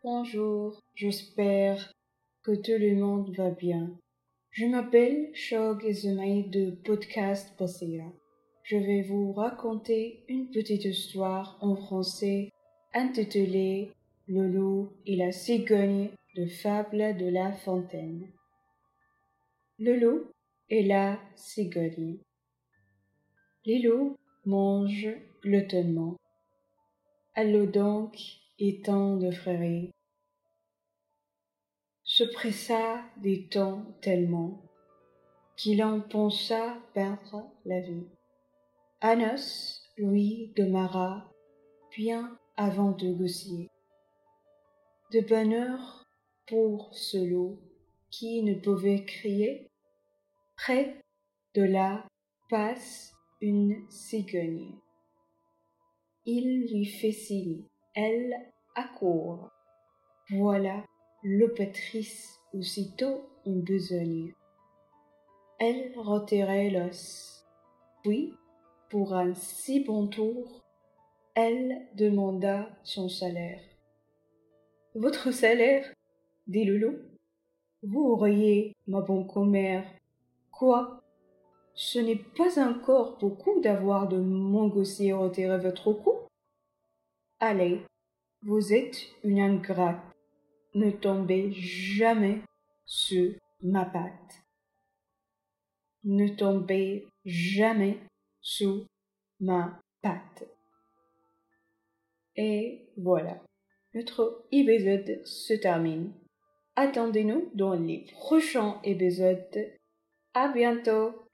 Bonjour, j'espère que tout le monde va bien. Je m'appelle Shog Izumai de Podcast Basira. Je vais vous raconter une petite histoire en français intitulée Le loup et la cigogne de Fable de La Fontaine. Le loup et la cigogne. Les loups mangent gloutonnement. Allons donc étant de frères, se pressa des temps tellement qu'il en pensa perdre la vie. Anos lui demeura bien avant de Goussier. De bonne heure pour ce loup qui ne pouvait crier. Près de là passe une cigogne. Il lui fait signe, elle accourt. Voilà l'opétrice aussitôt en besogne. Elle retirait l'os, puis, pour un si bon tour, elle demanda son salaire. « Votre salaire ?» dit le loup. « Vous auriez, ma bonne commère. Quoi? Ce n'est pas encore beaucoup d'avoir de mon gossier retirer votre cou? Allez, vous êtes une ingrate. Ne tombez jamais sur ma patte. Ne tombez jamais sous ma patte. » Et voilà, notre épisode se termine. Attendez-nous dans les prochains épisodes. À bientôt!